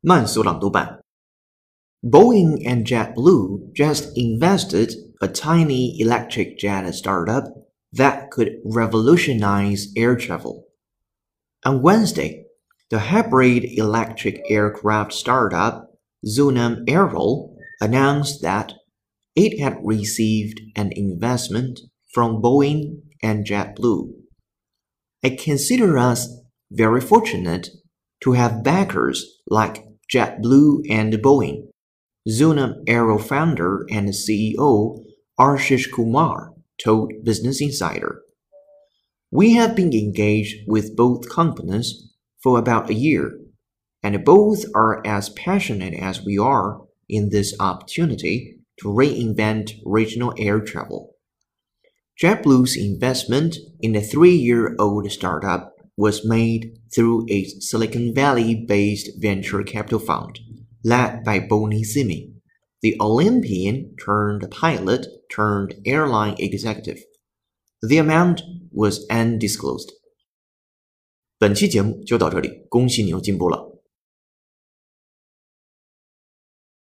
慢速朗读版 Boeing and JetBlue just invested a tiny electric jet startup that could revolutionize air travel. On Wednesday, the hybrid electric aircraft startup Zunam Aero announced that it had received an investment from Boeing and JetBlue. I consider us very fortunate to have backers like JetBlue and Boeing, Zunam Aero founder and CEO Ashish Kumar told Business Insider. We have been engaged with both companies for about a year, and both are as passionate as we are in this opportunity to reinvent regional air travel. JetBlue's investment in the 3-year-old startup was made through a Silicon Valley-based venture capital fund led by Bonnie Simi, the Olympian-turned-pilot-turned-airline executive. The amount was undisclosed. 本期节目就到这里，恭喜你又进步了。